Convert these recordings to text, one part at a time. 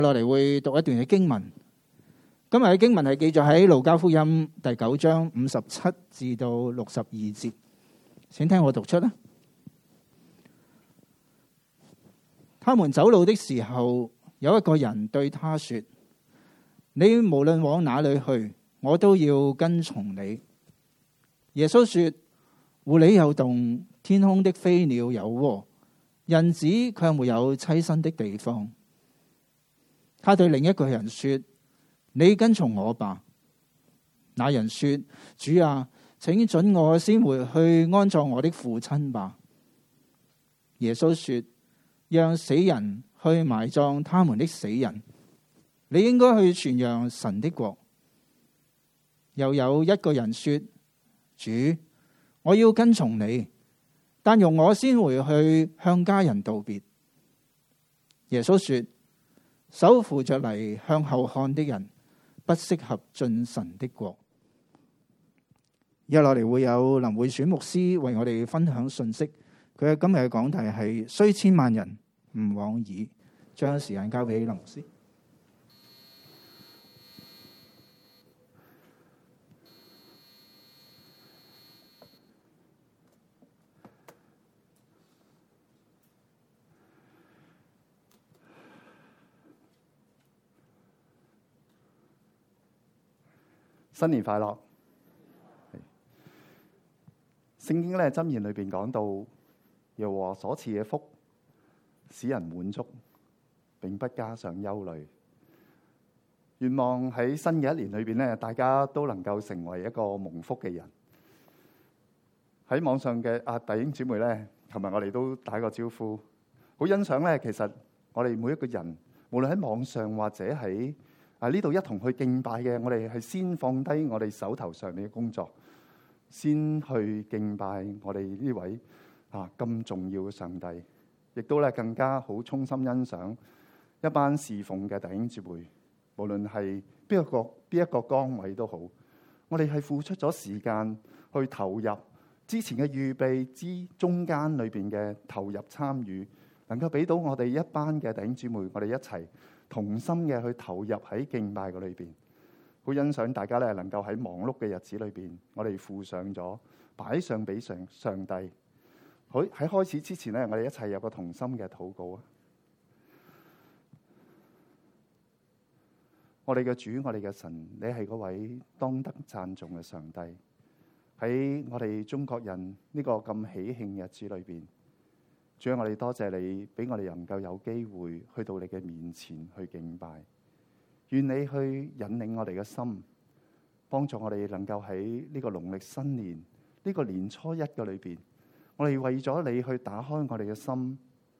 落嚟會讀一段嘅經文。今日嘅經文係記載喺路加福音第9章57至到62節，請聽我讀出啦。他們走路的時候，有一個人對他說：你無論往哪裏去，我都要跟從你。耶穌說：狐狸有洞，天空的飛鳥有窩，人子卻沒有棲身的地方。他對另一個人說：你跟從我吧。那人說：主啊，請准我先回去安葬我的父親吧。耶穌說：讓死人去埋葬他們的死人，你應該去傳揚神的國。又有一個人說：主，我要跟從你，但容我先回去向家人道別。耶穌說：手扶着犁向後看的人，不適合進神的國。接落嚟會有林會選牧師為我哋分享信息。佢今日嘅講題係雖千萬人吾往矣。將時間交俾林牧師。 新年快樂！聖經咧箴言裏邊講到，耶和華所賜嘅福，使人滿足，並不加上憂慮。願望喺新嘅一年裏邊咧，大家都能夠成為一個蒙福嘅人。喺網上嘅弟兄姊妹咧，琴日我哋都打個招呼，好欣賞咧。其實我哋每一個人，無論喺網上或者喺呢度一同去敬拜嘅，我哋係先放低我哋手頭上面嘅工作，先去敬拜我哋呢位咁重要嘅上帝，亦都咧更加好衷心欣賞一班侍奉嘅弟兄姊妹，無論係邊一個崗位都好，我哋係付出咗時間去投入，之前嘅預備之中間裏邊嘅投入參與，能夠俾到我哋一班嘅弟兄姊妹，我哋一齊同心嘅去投入喺敬拜嗰裏邊，好欣賞大家咧能夠喺忙碌嘅日子裏邊，我哋付上咗擺上俾上帝。好，喺開始之前咧，我哋一齊有個同心嘅禱告啊！我哋嘅主，我哋嘅神，你係嗰位當得讚頌嘅上帝。喺我哋中國人呢個咁喜慶日子裏邊，主啊，我哋多謝你俾我哋能夠有機會去到你嘅面前去敬拜。願你去引領我哋嘅心，幫助我哋能夠喺呢個農曆新年呢個年初一嘅裏邊，我哋為咗你去打開我哋嘅心。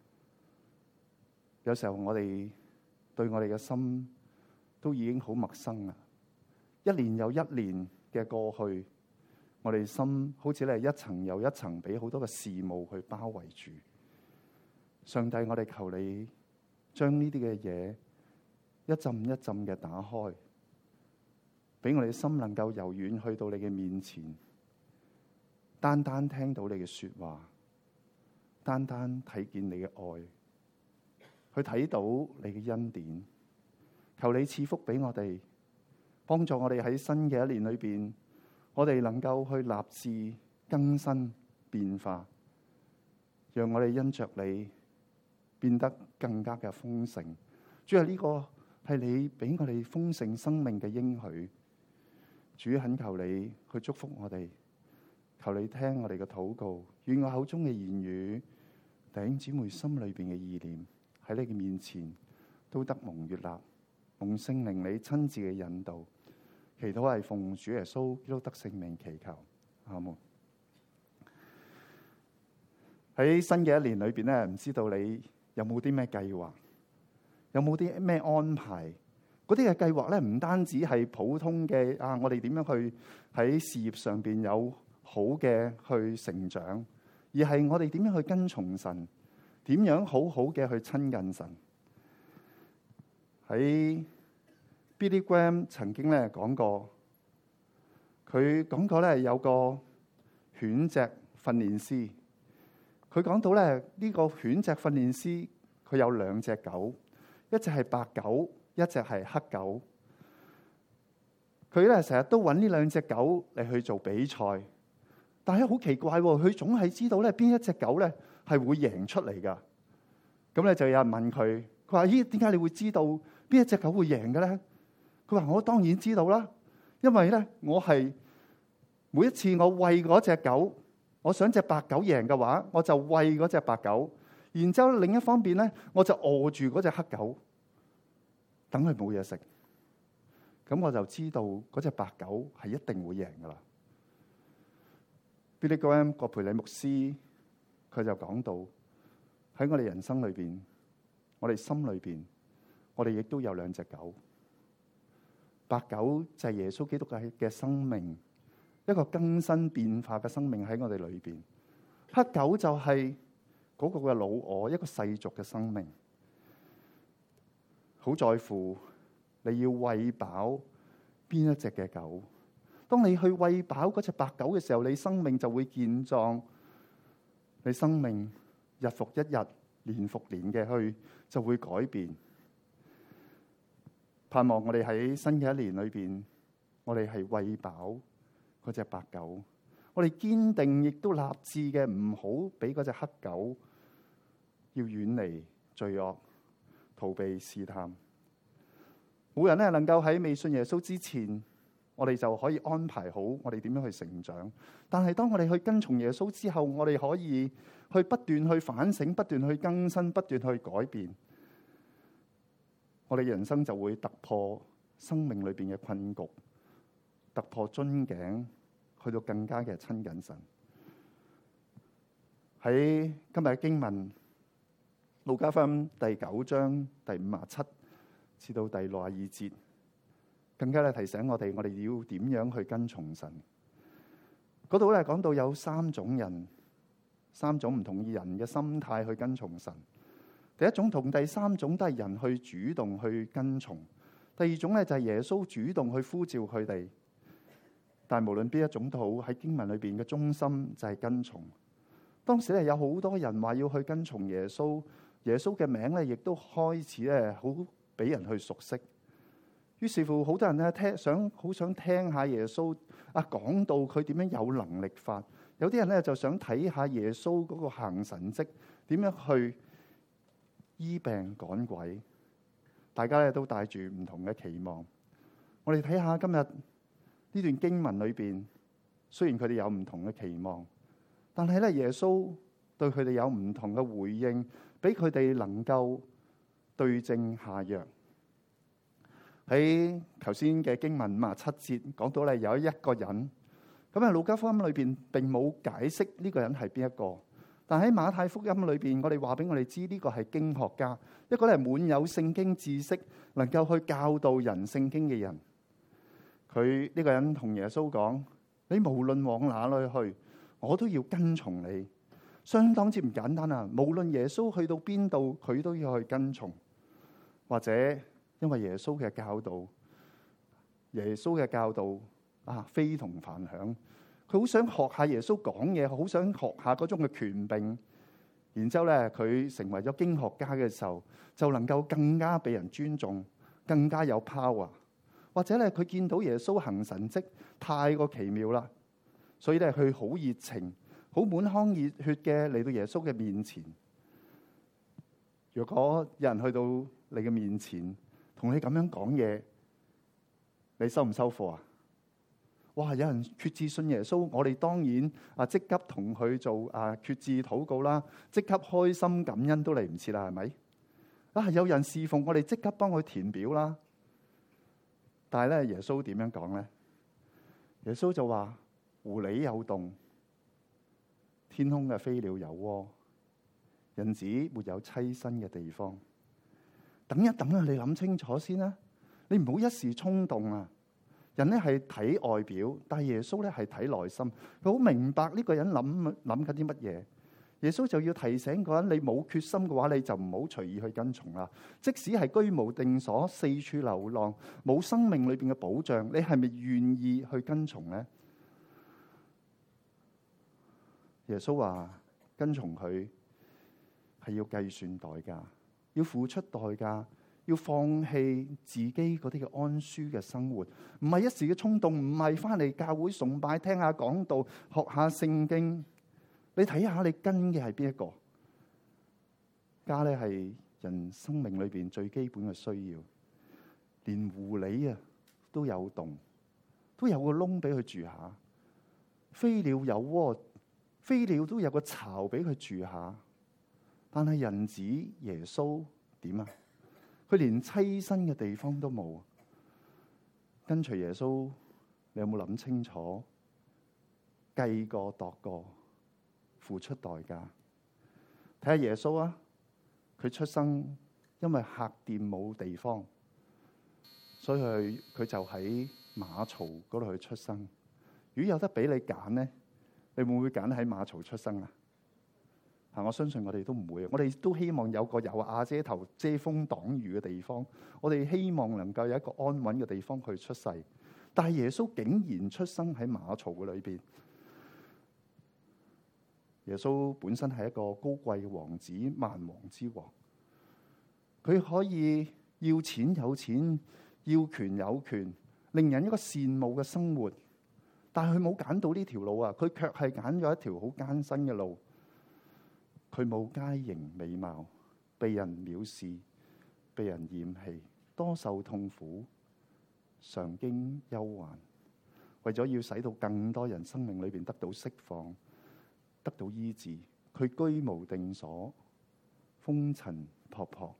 有時候我哋對我哋嘅心都已經好陌生啦，一年又一年嘅過去，我哋心好似咧一層又一層俾好多嘅事務去包圍住。上帝，我哋求你將呢啲嘅嘢一浸一浸嘅打開，俾我哋心能夠柔軟去到你嘅面前，單單聽到你嘅說話，單單睇見你嘅愛，去睇到你嘅恩典。求你賜福俾我哋，幫助我哋喺新嘅一年裏邊，我哋能夠去立志更新變化，讓我哋因着你變得更加嘅豐盛。主啊，呢個係你俾我哋豐盛生命嘅應許。主，懇求你去祝福我哋，求你聽我哋嘅禱告，願我口中嘅言語，弟兄姊妹心裏邊嘅意念，喺你嘅面前都得蒙悅納，蒙聖靈你親自嘅引導。祈禱係奉主耶穌基督得聖名祈求，阿門。喺新嘅一年裏邊咧，唔知道你有冇啲咩計劃，有冇啲咩安排？嗰啲嘅計劃咧，唔單止係普通嘅我哋點樣去喺事業上邊有好嘅去成長，而係我哋點樣去跟從神，點樣好好嘅去親近神。喺Billy Graham 曾經咧講過，佢講過咧有個犬隻訓練師，佢講到咧呢個犬隻訓練師佢有2隻狗， 一隻係白狗，一隻係黑狗。佢咧成日都揾呢兩隻狗嚟去做比賽，但係好奇怪喎，佢總係知道咧邊一隻狗咧係會贏出嚟噶。咁咧就有人問佢，佢話：咦，點解你會知道邊一隻狗會贏嘅咧？佢話：我當然知道啦，因為咧我係每一次我餵嗰隻狗，我想隻白狗贏嘅話，我就餵嗰隻白狗，然之後另一方面咧，我就餓住嗰隻黑狗，等佢冇嘢食。咁我就知道嗰隻白狗係一定會贏噶啦。Billy Graham 葛培理牧師佢就講到，喺我哋人生裏邊，我哋心裏邊，我哋亦都有兩隻狗。白狗就係耶穌基督嘅生命，一個更新變化嘅生命喺我哋裏邊。黑狗就係嗰個嘅老我，一個世俗嘅生命，好在乎你要餵飽邊一隻嘅狗。當你去餵飽嗰隻白狗嘅時候，你生命就會健壯，你生命日復一日、年復年嘅去就會改變。盼望我哋喺新嘅一年裏邊，我哋係餵飽嗰隻白狗，我哋堅定亦都立志嘅，唔好俾嗰隻黑狗要遠離罪惡，逃避試探。冇人咧能夠喺未信耶穌之前，我哋就可以安排好我哋點樣去成長。但係當我哋去跟從耶穌之後，我哋可以去不斷去反省，不斷去更新，不斷去改變。我哋人生就會突破生命裏邊嘅困局，突破樽頸，去到更加嘅親近神。喺今日嘅經文，路加福音第9章第57至到第62節，更加咧提醒我哋要點樣去跟從神。嗰度咧講到有3種人，3種唔同人嘅心態去跟從神。第一種同第3種都係人去主動去跟從，第二種咧就係耶穌主動去呼召佢哋。但係無論邊一種都好，喺經文裏邊嘅中心就係跟從。當時咧有好多人話要去跟從耶穌，耶穌嘅名咧亦都開始咧好俾人去熟悉。於是乎，好多人咧好想聽下耶穌講到佢點樣有能力法。有啲人咧就想睇下耶穌嗰個行神蹟，點樣去醫病趕鬼。大家咧都帶住唔同嘅期望。我哋睇下今日呢段經文裏邊，雖然佢哋有唔同嘅期望，但係咧耶穌對佢哋有唔同嘅回應，俾佢哋能夠對症下藥。喺頭先嘅經文57節講到咧有一個人，咁路加福音裏邊並冇解釋呢個人係邊一個，但喺馬太福音裏邊，我哋話俾我哋知呢個係經學家，一個咧滿有聖經知識，能夠去教導人聖經嘅人。佢呢個人同耶穌講：你無論往哪裏去，我都要跟從你。相當之唔簡單啊！無論耶穌去到邊度，佢都要去跟從。或者因為耶穌嘅教導非同凡響，佢好想學下耶穌講嘢，好想學下嗰種嘅權柄。然之後咧，佢成為咗經學家嘅時候，就能夠更加被人尊重，更加有 power。或者咧，佢見到耶穌行神蹟太過奇妙啦，所以咧佢好熱情、好滿腔熱血嘅嚟到耶穌嘅面前。如果有人去到你嘅面前，同你咁樣講嘢，你收唔收貨啊？哇！有人決志信耶穌，我哋當然即刻同佢做決志禱告啦，即刻開心感恩都嚟唔切啦，係咪？有人侍奉我哋，即刻幫佢填表啦。但係咧，耶穌點樣講咧？耶穌就話：狐狸有洞，天空嘅飛鳥有窩，人子沒有棲身嘅地方。等一等啊，你諗清楚先啦，你唔好一時衝動啊！人咧係睇外表，但係耶穌咧係睇內心。佢好明白呢個人諗緊啲乜嘢。耶穌就要提醒個人：你冇決心嘅話，你就唔好隨意去跟從啦。即使係居無定所、四處流浪、冇生命裏邊嘅保障，你係咪願意去跟從呢？耶穌話：跟從佢係要計算代價，要付出代價， 要放棄自己嗰啲嘅安舒嘅生活，唔係一時嘅衝動，唔係翻嚟教會崇拜聽下講道學下聖經。你睇下你跟嘅係邊一個？家咧係人生命裏邊最基本嘅需要，連狐狸啊都有洞，都有個窿俾佢住下；飛鳥有窩，飛鳥都有個巢俾佢住下。但係人子耶穌點啊？佢連棲身嘅地方都冇。跟隨耶穌，你有冇諗清楚？計過度過，付出代價。睇下耶穌啊，佢出生因為客店冇地方，所以佢就喺馬槽嗰度去出生。如果有得俾你揀咧，你會唔會揀喺馬槽出生啊？我相信我哋都唔會。我哋都希望有個有瓦遮頭遮風擋雨嘅地方。我哋希望能夠有一個安穩嘅地方去出世。但係耶穌竟然出生喺馬槽嘅裏邊。耶穌本身係一個高貴嘅王子，萬王之王。佢可以要錢有錢，要權有權，令人一個羨慕嘅生活。但係佢冇揀到呢條路啊！佢卻係揀咗一條好艱辛嘅路。佢冇佳形美貌，被人藐視，被人厭棄，多受痛苦，常經憂患。為咗要使到更多人生命裏邊得到釋放，得到醫治，佢居無定所，風塵僕僕。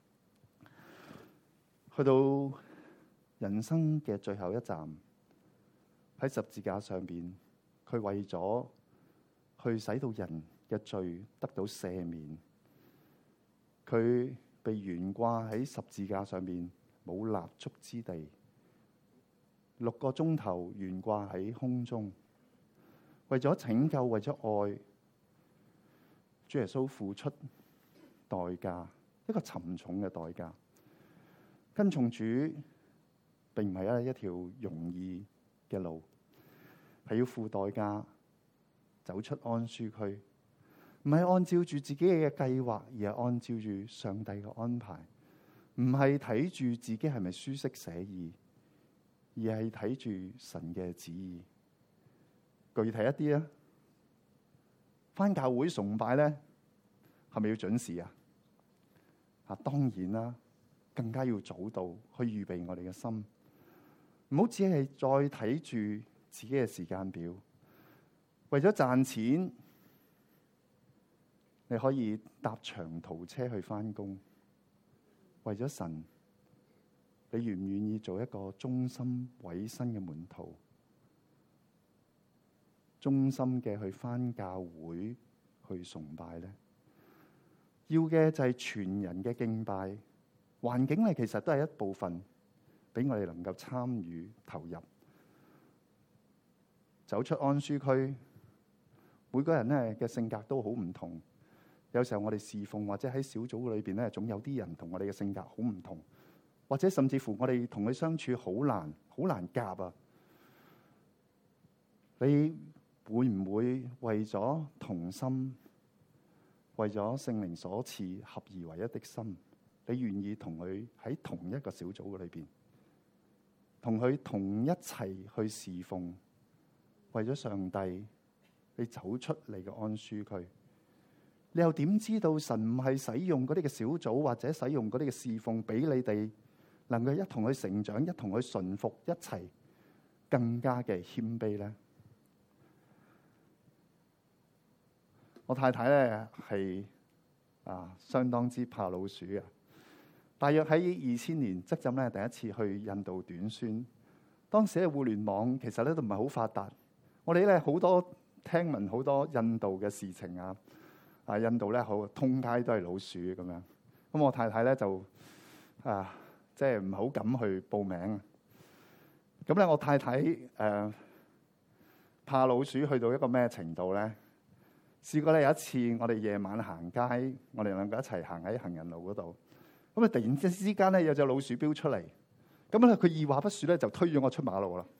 去到人生嘅最後一站，喺十字架上邊，佢為咗去使到人嘅罪得到赦免，佢被懸掛喺十字架上面，冇立足之地，6個鐘頭懸掛喺空中，為咗拯救，為咗愛，主耶穌付出代價，一個沉重嘅代價。跟從主並唔係一條容易嘅路，係要付代價，走出安舒區。唔係按照住自己嘅計劃，而係按照住上帝嘅安排。唔係睇住自己係咪舒適寫意，而係睇住神嘅旨意。具體一啲啊，返教會崇拜咧，係咪要準時啊？當然啦，更加要早到去預備我哋嘅心。唔好只係再睇住自己嘅時間表，為咗賺錢。你可以搭長途車去返工，為咗神，你願唔願意做一個忠心委身嘅門徒？忠心嘅去返教會去崇拜呢？要嘅就係全人嘅敬拜，環境咧其實都係一部分，俾我哋能夠參與投入，走出安舒區。每個人咧嘅性格都好唔同。有時候我哋侍奉或者喺小組裏邊咧，總有啲人同我哋嘅性格好唔同，或者甚至乎我哋同佢相處好難夾啊！你會唔會為咗同心，為咗聖靈所賜合而為一的心，你願意同佢喺同一個小組裏邊，同佢同一齊去侍奉，為咗上帝，你走出你嘅安舒區？你又點知道神唔係使用嗰啲嘅小組，或者使用嗰啲嘅侍奉，俾你哋能夠一同去成長，一同去順服，一齊更加嘅謙卑呢？我太太咧係相當之怕老鼠嘅。大約喺2000年，即浸咧第一次去印度短宣。當時嘅互聯網其實咧都唔係好發達，我哋咧好多聽聞好多印度嘅事情啊。印度咧好通街都係老鼠咁樣，咁我太太咧就即係唔係好敢去報名。咁咧我太太怕老鼠去到一個咩程度咧？試過咧有一次我哋夜晚行街，我哋兩個一齊行喺行人路嗰度，咁啊突然之間咧有隻老鼠飆出嚟，咁咧佢二話不說咧就推咗我出馬路啦。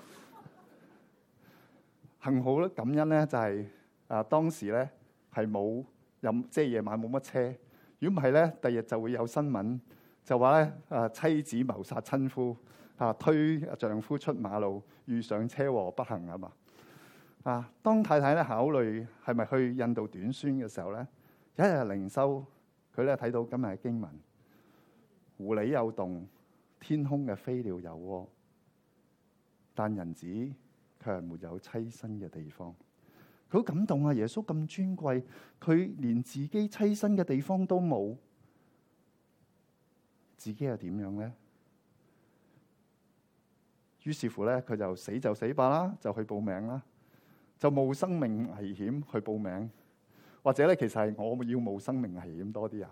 幸好咧感恩咧就係當時咧。係冇即係夜晚冇乜車。如果唔係咧，第日就會有新聞， 就話咧妻子謀殺親夫，推丈夫出馬路，遇上車禍不幸啊嘛。當太太咧考慮係咪去印度短宣嘅時候咧，有一日靈修，佢咧睇到今日嘅經文，狐狸有洞，天空嘅飛鳥有窩，但人子卻係沒有棲身嘅地方。佢好感動啊！耶穌咁尊貴，佢連自己棲身嘅地方都冇，自己又點樣咧？於是乎咧，佢就死吧啦，就去報名啦，就冒生命危險去報名，或者咧，其實係我要冒生命危險多啲啊！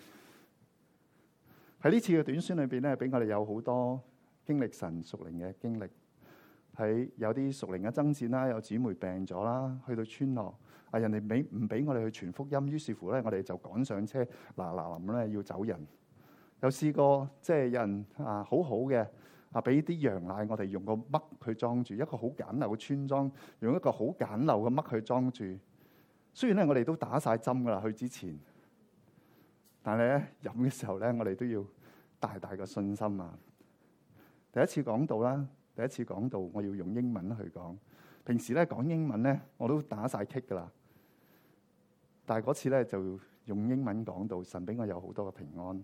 喺呢次嘅短宣裏邊咧，俾我哋有好多經歷神屬靈嘅經歷。喺有啲屬靈嘅爭戰啦，有姊妹病咗啦，去到村落，人哋唔俾我哋去傳福音，於是乎咧，我哋就趕上車，嗱臨咧要走人。有試過即係有人好好嘅俾啲羊奶我哋用個嘜去裝住，一個好簡陋嘅村莊，用一個好簡陋嘅嘜去裝住。雖然咧我哋都打晒針噶啦，去之前，但係咧飲嘅時候咧，我哋都要大大嘅信心啊！第一次講道啦。第一次講道，我要用英文去講。平時咧講英文咧，我都打晒棘噶啦。但係嗰次咧就用英文講道，神俾我有好多嘅平安。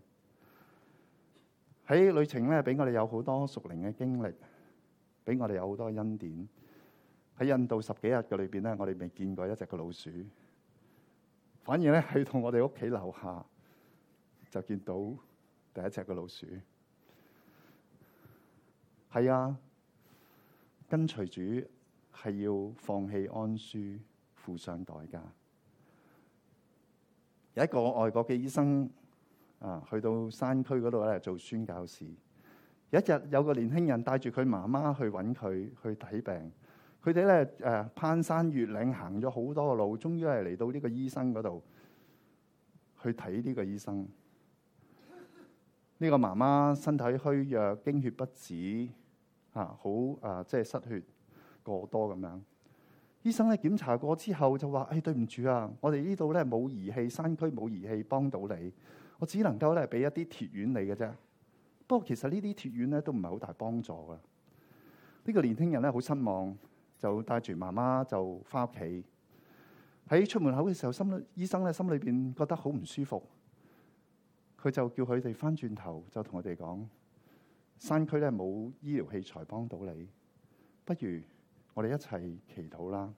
喺旅程咧，俾我哋有好多屬靈嘅經歷，俾我哋有好多恩典。喺印度10幾日嘅裏邊咧，我哋未見過一隻嘅老鼠，反而咧去到我哋屋企樓下就見到第一隻嘅老鼠。係啊。跟隨主係要放棄安舒，付上代價。有一個外國嘅醫生去到山區嗰度咧做宣教士。有一日有個年輕人帶住佢媽媽去揾佢去睇病。佢哋咧攀山越嶺行咗好多個路，終於係嚟到呢個醫生嗰度去睇呢個醫生。呢個媽媽身體虛弱，經血不止。即係失血過多咁樣。醫生咧檢查過之後就話：對唔住啊，我哋呢度咧冇儀器，山區冇儀器幫到你，我只能夠咧俾一啲鐵丸你嘅啫。不過其實呢啲鐵丸咧都唔係好大幫助噶。呢個年輕人咧好失望，就帶住媽媽就翻屋企。喺出門口嘅時候，醫生咧心裏邊覺得好唔舒服，佢就叫佢哋翻轉頭，就同佢哋講。山區咧冇醫療器材幫到你，不如我哋一齊祈禱啦。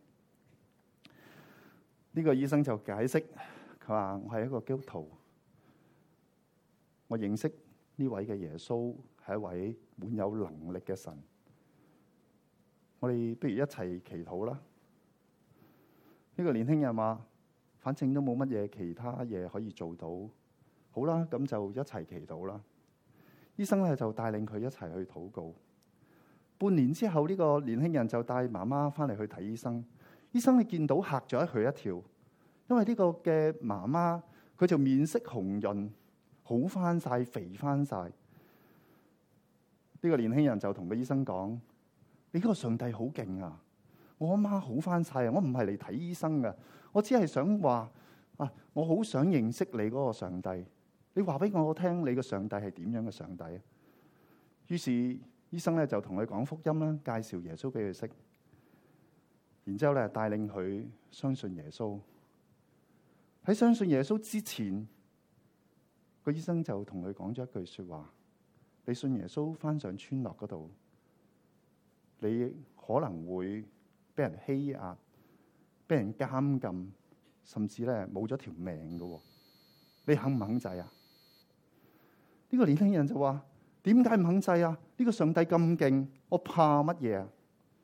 呢個醫生就解釋，佢話我係一個基督徒，我認識呢位嘅耶穌係一位滿有能力嘅神。我哋不如一齊祈禱啦。呢個年輕人話，反正都冇乜嘢其他嘢可以做到，好啦，咁就一齊祈禱啦。醫生咧就帶領佢一齊去禱告。半年之後，呢個年輕人就帶媽媽翻嚟去睇醫生。醫生你見到嚇咗佢一跳，因為呢個嘅媽媽佢就面色紅潤，好翻晒，肥翻晒。呢個年輕人就同個醫生講：你呢個上帝好勁啊！我阿媽好翻晒啊！我唔係嚟睇醫生噶，我只係想話我好想認識你嗰個上帝。你話俾我聽，你個上帝係點樣嘅上帝啊？於是醫生咧就同佢講福音啦，介紹耶穌俾佢識，然之後咧帶領佢相信耶穌。喺相信耶穌之前，個醫生就同佢講咗一句說話：你信耶穌翻上村落嗰度，你可能會俾人欺壓、俾人監禁，甚至咧冇咗條命噶。你肯唔肯制啊？呢個年輕人就話：點解唔肯制啊？呢個上帝咁勁，我怕乜嘢啊？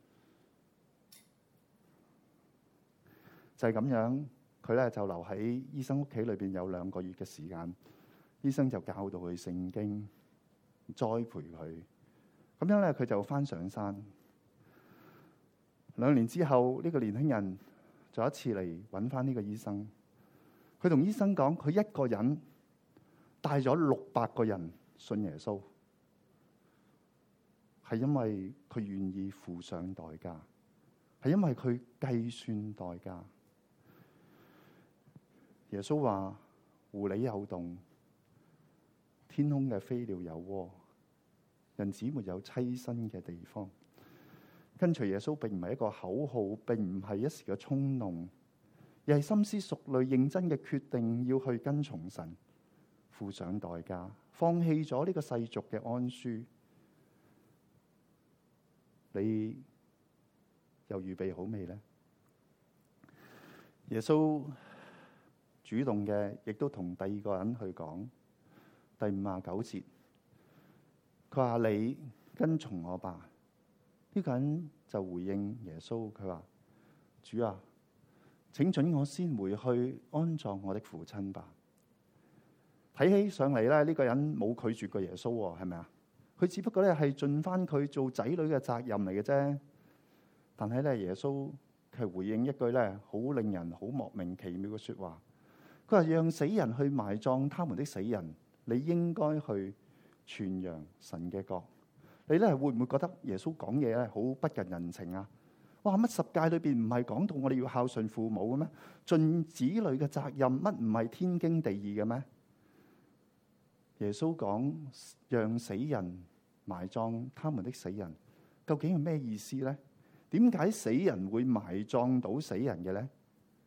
就係咁樣，佢咧就留喺醫生屋企裏邊有2個月嘅時間。醫生就教導佢聖經，栽培佢。咁樣咧，佢就翻上山。2年之後，呢個年輕人就一次嚟揾翻呢個醫生。佢同醫生講，佢一個人帶咗600個人信耶穌，係因為佢願意付上代價，係因為佢計算代價。耶穌話：狐狸有洞， 天空嘅飛鳥有窩，人子沒有棲身嘅地方。跟隨耶穌並唔係一個口號，並唔係一時嘅衝動，而係深思熟慮、認真嘅決定，要去跟從神，付上代價，放棄咗呢個世俗嘅安舒。你又預備好未呢？耶穌主動嘅，亦都同第二個人去講。第59節，佢話：你跟從我吧。呢個人就回應耶穌，佢話：主啊，請准我先回去安葬我的父親吧。睇起上嚟咧，呢個人冇拒絕過耶穌，係咪啊？佢只不過咧係盡翻佢做仔女嘅責任嚟嘅啫。但係咧，耶穌佢回應一句咧，好令人好莫名其妙嘅說話。佢話：讓死人去埋葬他們的死人，你應該去傳揚神嘅國。你咧會唔會覺得耶穌講嘢咧好不近人情啊？哇！乜十誡裏邊唔係講到我哋要孝順父母嘅咩？盡子女嘅責任，乜唔係天經地義嘅咩？耶穌講讓死人埋葬他們的死人，究竟係咩意思咧？點解死人會埋葬到死人嘅咧？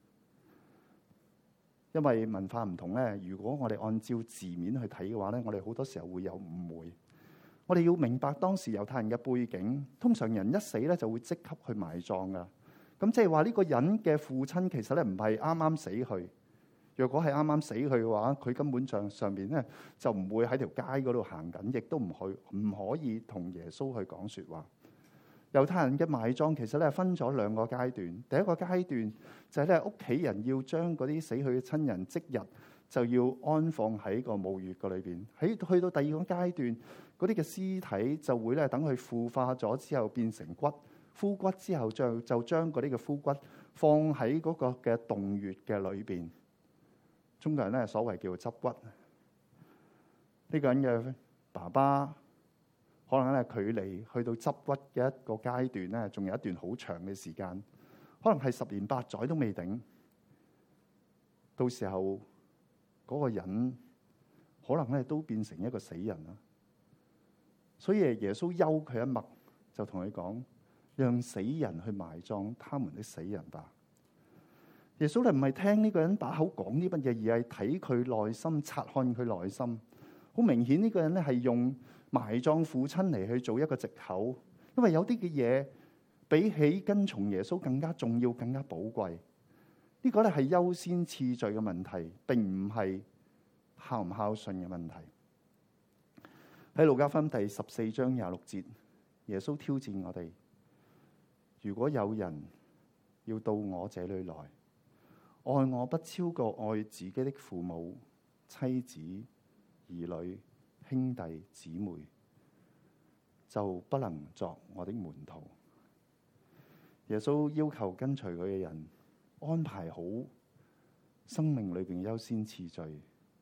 因為文化唔同咧，如果我哋按照字面去睇嘅話咧，我哋好多時候會有誤會。我哋要明白當時猶太人嘅背景，通常人一死咧就會即刻去埋葬噶。咁即係話呢個人嘅父親其實咧唔係啱啱死去。若果係啱啱死去嘅話，佢根本上邊咧就唔會喺條街嗰度行緊，亦都唔可以同耶穌去講說話。猶太人嘅埋葬其實咧分咗兩個階段。第一個階段就係咧屋企人要將嗰啲死去嘅親人即日就要安放喺個墓穴個裏邊。去到第二個階段，嗰啲嘅屍體就會咧等佢腐化咗之後變成骨，枯骨之後就將嗰啲嘅枯骨放喺嗰個嘅洞穴嘅裏邊。中國人咧所謂叫做執骨。呢個人嘅爸爸可能咧距離去到執骨嘅一個階段咧，仲有一段好長嘅時間，可能係10年8載都未定。到時候嗰個人可能咧都變成一個死人啦。所以耶穌休佢一默，就同佢講：讓死人去埋葬他們的死人吧。耶穌咧唔係聽呢個人把口講啲乜嘢，而係睇佢內心，察看佢內心。好明顯呢個人咧係用埋葬父親嚟去做一個藉口，因為有啲嘅嘢比起跟從耶穌更加重要、更加寶貴。呢個咧係優先次序嘅問題，並唔係孝唔孝順嘅問題。喺路加福音第14章26節，耶穌挑戰我哋：如果有人要到我這裏來，愛我不超過愛自己的父母、妻子、兒女、兄弟姊妹，就不能作我的門徒。耶穌要求跟隨佢嘅人安排好生命裏邊優先次序，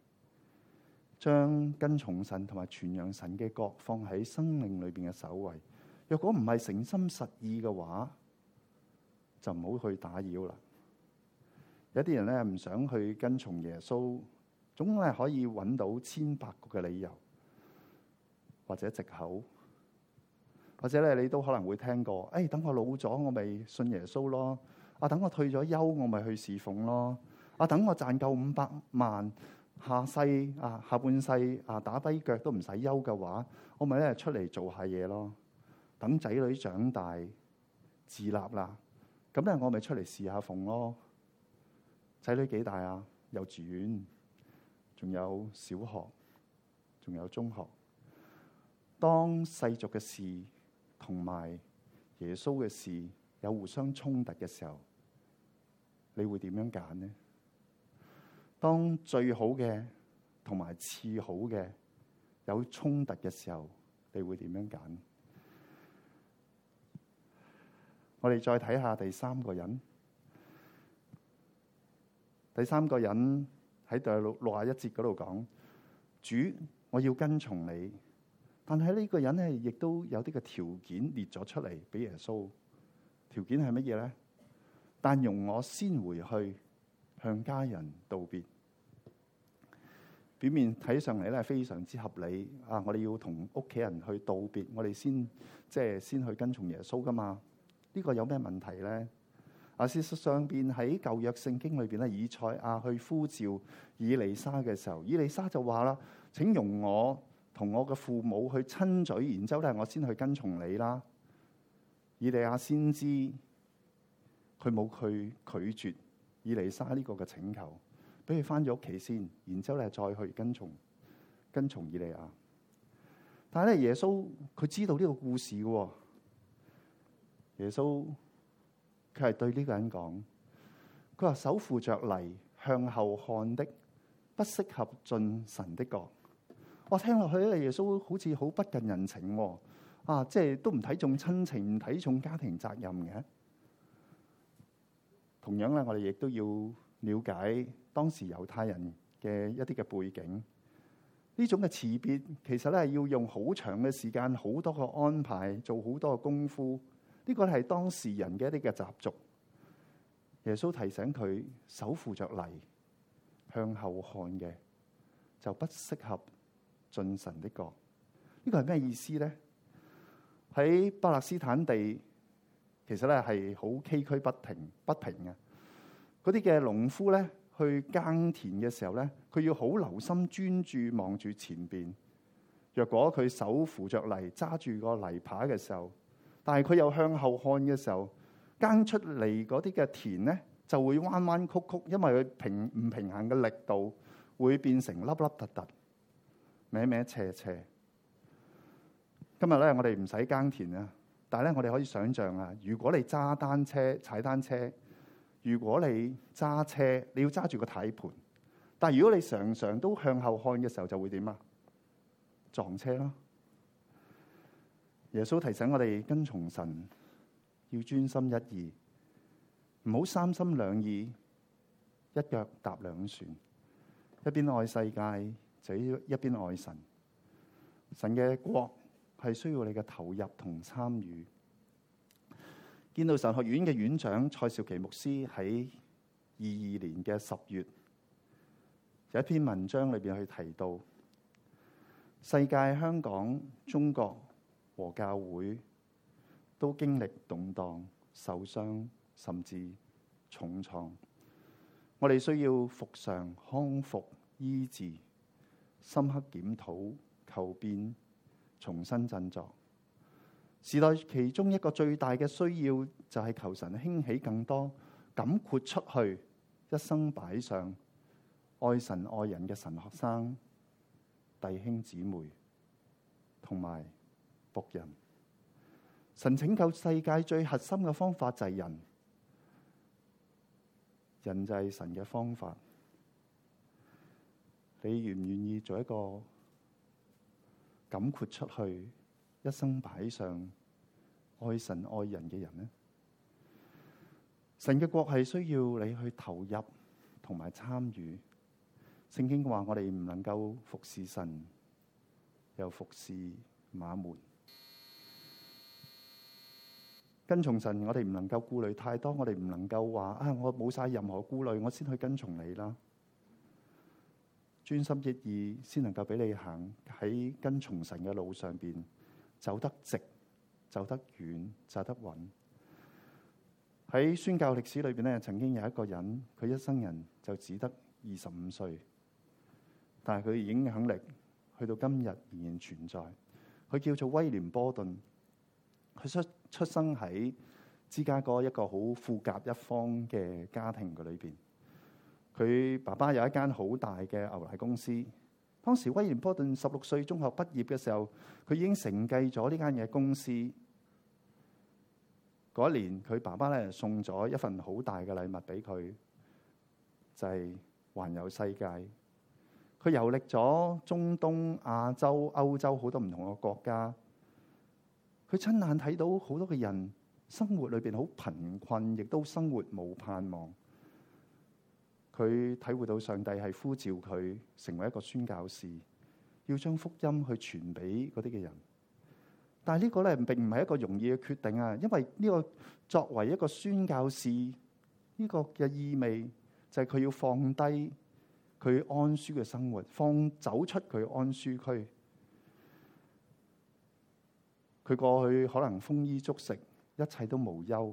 將跟從神同埋傳揚神嘅國放喺生命裏邊嘅首位。若果唔係誠心實意嘅話，就唔好去打擾啦。有啲人咧唔想去跟從耶穌，總係可以揾到千百個嘅理由或者藉口，或者咧你都可能會聽過：等我老咗，我咪信耶穌咯；等我退咗休，我咪去侍奉咯；等我賺夠500萬，下半世打跛腳都唔使休嘅話，我咪咧出嚟做下嘢咯。等仔女長大自立啦，咁咧我咪出嚟侍下奉咯。仔女幾大啊？幼稚園，仲有小學，仲有中學。當世俗嘅事同埋耶穌嘅事有互相衝突嘅時候，你會點樣揀呢？當最好嘅同埋次好嘅有衝突嘅時候，你會點樣揀？我哋再睇下第三個人。第三個人喺第61節嗰度講：主，我要跟從你。但係呢個人咧，亦都有啲嘅條件列咗出嚟俾耶穌。條件係乜嘢咧？但容我先回去向家人道別。 表面睇上嚟咧非常之合理啊！我哋要同屋企人去道別，我哋先去跟從耶穌噶嘛？呢個有咩問題咧？事實上邊喺舊約聖經裏邊咧，以賽亞去呼召以利沙嘅時候，以利沙就話啦：請容我同我嘅父母去親嘴，然之後咧我先去跟從你啦。以利亞先知佢冇去拒絕以利沙呢個嘅請求，俾佢翻咗屋企先，然之後咧再去跟從以利亞。但係咧，耶穌佢知道呢個故事嘅，耶穌佢係對呢個人講，佢話手扶着犁向後看的，不適合進神的國。我聽落去咧，耶穌好似好不近人情即係都唔睇重親情，唔睇重家庭責任嘅。同樣咧，我哋亦都要了解當時猶太人嘅一啲嘅背景。呢種嘅辭別其實咧要用好長嘅時間，好多個安排，做好多嘅功夫。呢個係當時人嘅一啲嘅習俗。耶穌提醒佢手扶着犁向後看嘅，就不適合進神的國。呢個係咩意思咧？喺巴勒斯坦地，其實咧係好崎嶇不平嘅。嗰啲嘅農夫咧去耕田嘅時候咧，佢要好留心專注望住前邊。若果佢手扶着犁揸住個犁耙嘅時候，但係佢又向後看嘅時候，耕出嚟嗰啲嘅田咧就會彎彎曲曲，因為佢唔平衡嘅力度會變成凹凹凸凸、歪歪斜斜。今日咧我哋唔使耕田啊，但係咧我哋可以想象啊，如果你踩單車，如果你揸車，你要揸住個軚盤，但係如果你常常都向後看嘅時候，就會點啊？撞車咯。耶穌提醒我哋跟從神要專心一意，唔好三心兩意，一腳踏兩船，一邊愛世界就一邊愛神。神嘅國係需要你嘅投入同參與。建道神學院嘅院長蔡兆琪牧師喺22年嘅10月有一篇文章裏邊去提到，世界、香港、中國和教會都經歷動盪、受傷，甚至重創。我哋需要復常、康復、醫治、深刻檢討、求變、重新振作。時代其中一個最大嘅需要就係求神興起更多敢豁出去、一生擺上、愛神愛人嘅神學生、弟兄姊妹同埋僕人。神拯救世界最核心嘅方法就係人，人就係神嘅方法。你願唔願意做一個敢豁出去、一生擺上、愛神愛人嘅人呢？神嘅國係需要你去投入同埋參與。聖經話我哋唔能夠服侍神，又服侍馬門。跟從神，我哋唔能夠顧慮太多，我哋唔能夠話我冇晒任何顧慮，我先去跟從你啦。專心一意，先能夠俾你行喺跟從神嘅路上邊，走得直，走得遠，走得穩。喺宣教歷史裏邊咧，曾經有一個人，佢一生人就只得25歲，但係佢影響力去到今日仍然存在。佢叫做威廉波頓，佢出生喺芝加哥一個好富甲一方嘅家庭嘅裏邊。佢爸爸有一間好大嘅牛奶公司。當時威廉波頓16歲中學畢業嘅時候，佢已經承繼咗呢間嘅公司。嗰一年，佢爸爸咧送咗一份好大嘅禮物俾佢，就係環遊世界。佢遊歷咗中東、亞洲、歐洲好多唔同嘅國家。佢親眼睇到好多嘅人生活裏邊好貧困，亦都生活冇盼望。佢體會到上帝係呼召佢成為一個宣教士，要將福音去傳俾嗰啲嘅人。但係呢個咧並唔係一個容易嘅決定啊，因為呢個作為一個宣教士，呢個嘅意味就係佢要放低佢安舒嘅生活，走出佢安舒區。佢過去可能豐衣足食，一切都無憂。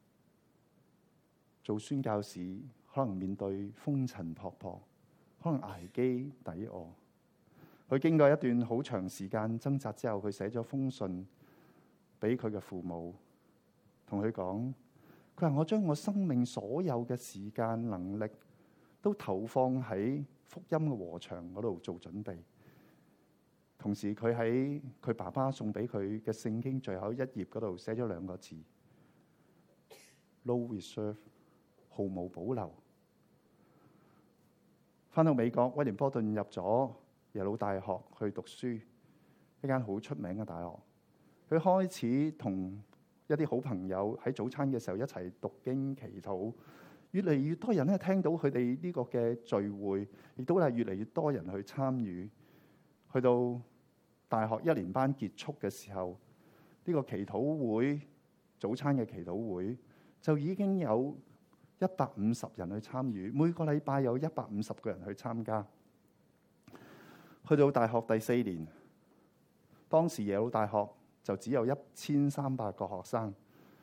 做宣教士可能面對風塵僕僕，可能捱飢抵餓。佢經過一段好長時間掙扎之後，佢寫咗封信俾佢嘅父母，同佢講：佢話我將我生命所有嘅時間能力都投放喺福音嘅禾場嗰度做準備。同時佢喺佢爸爸送俾佢嘅聖經最後一頁嗰度寫咗2個字 ：No reserve， 毫無保留。返到美國，威廉波頓入咗耶魯大學去讀書，一間好出名嘅大學。佢開始同一啲好朋友喺早餐嘅時候一齊讀經祈禱，越嚟越多人咧聽到佢哋呢個嘅聚會，亦都係越嚟越多人去參與。去到大學1年班結束嘅時候，呢個祈禱會早餐嘅祈禱會就已經有150人去參與，每個禮拜有150個人去參加。去到大學第4年，當時耶魯大學就只有1300個學生，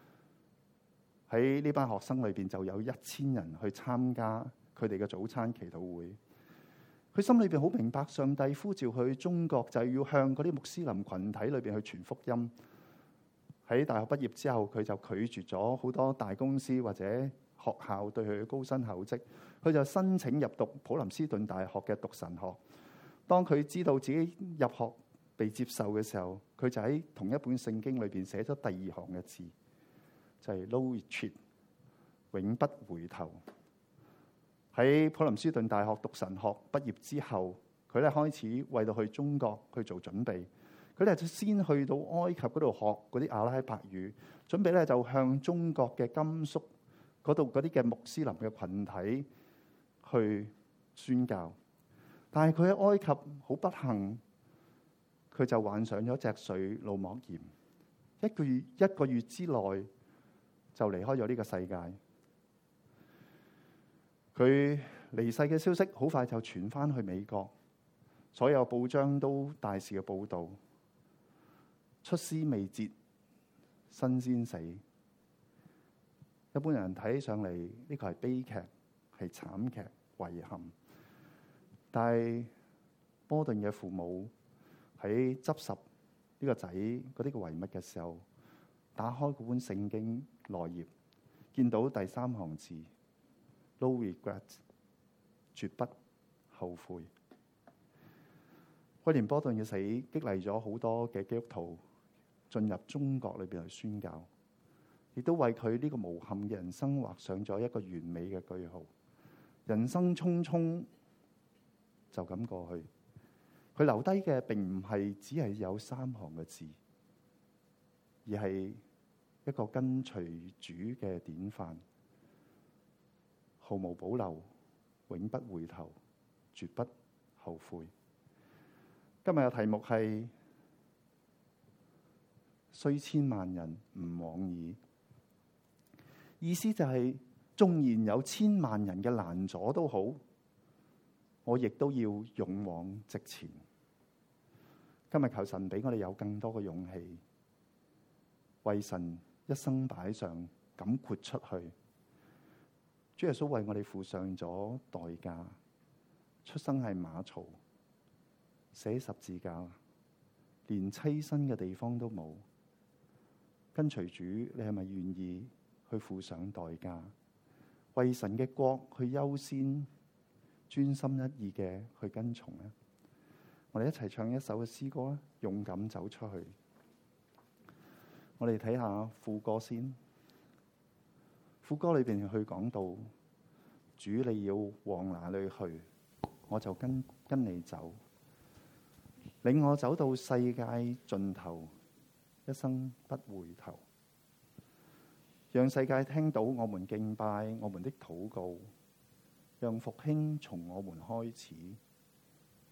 喺呢班學生裏邊就有1000人去參加佢哋嘅早餐祈禱會。佢心裏邊好明白上帝呼召佢去中國，就係要向嗰啲穆斯林群體裏邊去傳福音。喺大學畢業之後，佢就拒絕咗好多大公司或者學校對佢嘅高薪厚職，佢就申請入讀普林斯頓大學嘅讀神學。當佢知道自己入學被接受嘅時候，佢就喺同一本聖經裏邊寫咗第2行嘅字，就係 No retreat， 永不回頭。喺普林斯頓大學讀神學畢業之後，佢咧開始為到去中國去做準備。佢咧就先去到埃及嗰度學嗰啲阿拉伯語，準備咧就向中國嘅甘肅嗰度嗰啲嘅穆斯林嘅群體去宣教。但係佢喺埃及好不幸，佢就患上咗脊髓腦膜炎，一個月之內就離開咗呢個世界。佢離世嘅消息好快就傳翻去美國，所有報章都大肆嘅報導，出師未捷身先死。一般人睇上嚟呢個係悲劇，係慘劇，遺憾。但係波頓嘅父母喺執拾呢個仔嗰啲嘅遺物嘅時候，打開嗰本聖經內頁，見到第3行字 No regret， 絕不後悔。威廉波頓嘅死激勵咗好多嘅基督徒進入中國裏邊去宣教，亦都為佢呢個無憾嘅人生畫上咗一個完美嘅句號。人生匆匆就咁過去，佢留低嘅並唔係只係有3行嘅字，而係一個跟隨主嘅典範，毫無保留，永不回頭，絕不後悔。今日嘅題目係雖千萬人吾往矣，意思就係縱然有千萬人嘅攔阻都好，我亦都要勇往直前。今日求神俾我哋有更多嘅勇氣，為神一生擺上，敢豁出去。主耶穌為我哋付上咗代價，出生喺馬槽，寫十字架，連棲身嘅地方都冇。跟隨主，你係咪願意去付上代價，為神嘅國去優先，專心一意嘅去跟從呢？我哋一齊唱一首嘅詩歌啦，勇敢走出去。我哋睇下副歌先。副歌裏邊去講到，主你要往哪裏去，我就跟你走，領我走到世界盡頭，一生不回頭。讓世界聽到我們敬拜，我們的禱告，讓復興從我們開始。